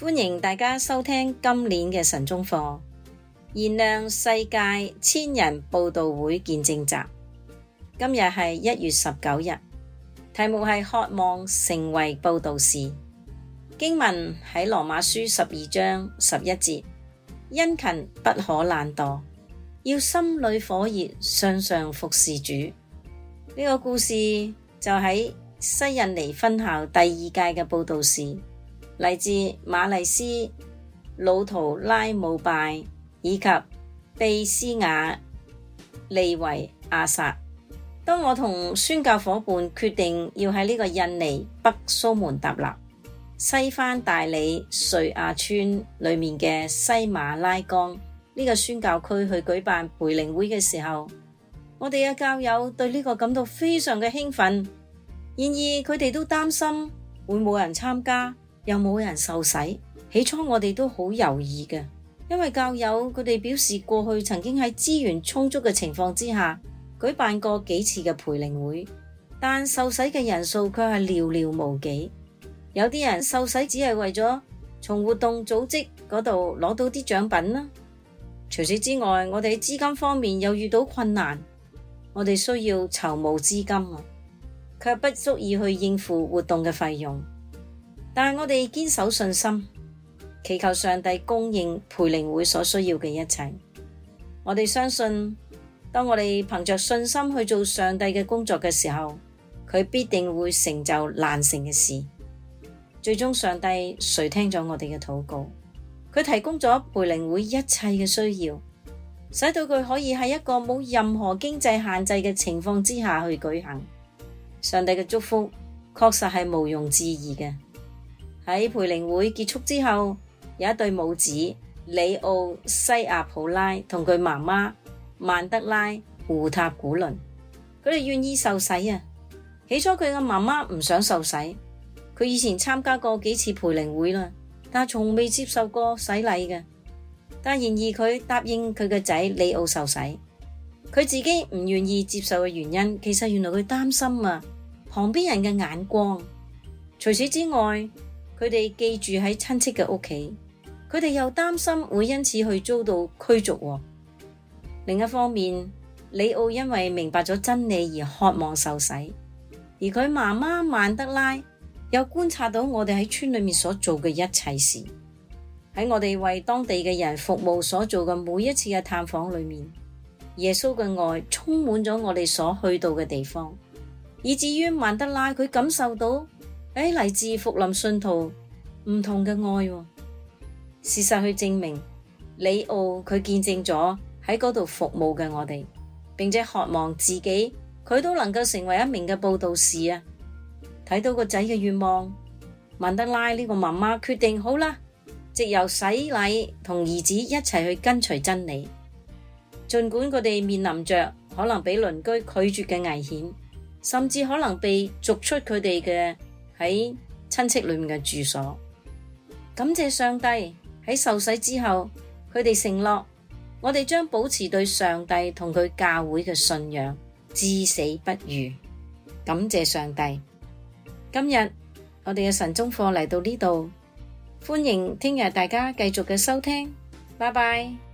歡迎大家收聽今年嘅晨鐘課，燃亮世界千人佈道會見證集。今日係1月19日，題目係渴望成為佈道士。經文喺羅馬書12章11節，殷勤不可懶惰，要心裏火熱，常常服侍主。呢個故事就喺西印尼分校第2屆嘅佈道士，嚟自馬麗斯、魯圖拉姆拜以及貝斯亞利維亞薩。當我同宣教夥伴決定要喺呢個印尼北蘇門答臘西番大里瑞亞村裏面嘅西馬拉江呢個宣教區去舉辦培靈會嘅時候，我哋嘅教友對呢個感到非常嘅興奮。然而佢哋都擔心會冇人參加，又冇人受洗。起初我哋都好猶豫嘅，因為教友佢哋表示過去曾經喺資源充足嘅情況之下舉辦過幾次嘅培靈會，但受洗嘅人數卻係寥寥無幾。有啲人受洗只係為咗從活動組織嗰度攞到啲獎品啦。除此之外，我哋喺資金方面又遇到困難，我哋需要籌募資金啊，卻不足以去應付活動嘅費用。但係我哋堅守信心，祈求上帝供應培靈會所需要嘅一切。我哋相信，當我哋憑着信心去做上帝嘅工作嘅時候，佢必定會成就難成嘅事。最終上帝垂聽咗我哋嘅禱告，佢提供咗培靈會一切嘅需要，使到佢可以喺一個冇任何經濟限制嘅情況之下去舉行。上帝嘅祝福確實係毋庸置疑嘅。喺培靈會結束之後，有一對母子里奧西亞普拉同佢媽媽曼德拉胡塔古倫，佢哋願意受洗啊。起初佢嘅媽媽唔想受洗，佢以前參加過幾次培靈會啦，但係從未接受過洗禮嘅。但然而佢答應佢嘅仔里奧受洗。佢自己唔願意接受嘅原因，其實原來佢擔心啊旁邊人嘅眼光。除此之外，佢哋寄住喺親戚嘅屋企，佢哋又擔心會因此去遭到驅逐。另一方面，里奧因為明白咗真理而渴望受洗，而佢媽媽曼德拉又觀察到我哋喺村裏面所做嘅一切事。喺我哋為當地嘅人服務所做嘅每一次嘅探訪裏面，耶穌嘅愛充滿咗我哋所去到嘅地方，以至於曼德拉佢感受到嚟自福林信徒唔同嘅愛。事實去證明，里奧佢見證咗喺嗰度服務嘅我哋，並且渴望自己佢都能夠成為一名嘅佈道士啊！睇到個仔嘅願望，曼德拉呢個媽媽決定好啦，藉由洗禮同兒子一齊去跟隨真理。儘管佢哋面臨着可能俾鄰居拒絕嘅危險，甚至可能被逐出佢哋嘅喺親戚裏面嘅住所。感謝上帝，喺受洗之後，佢哋承諾，我哋將保持對上帝同佢教會嘅信仰，至死不渝。感謝上帝。今日我哋嘅晨鐘課嚟到呢度，歡迎聽日大家繼續嘅收聽，拜拜。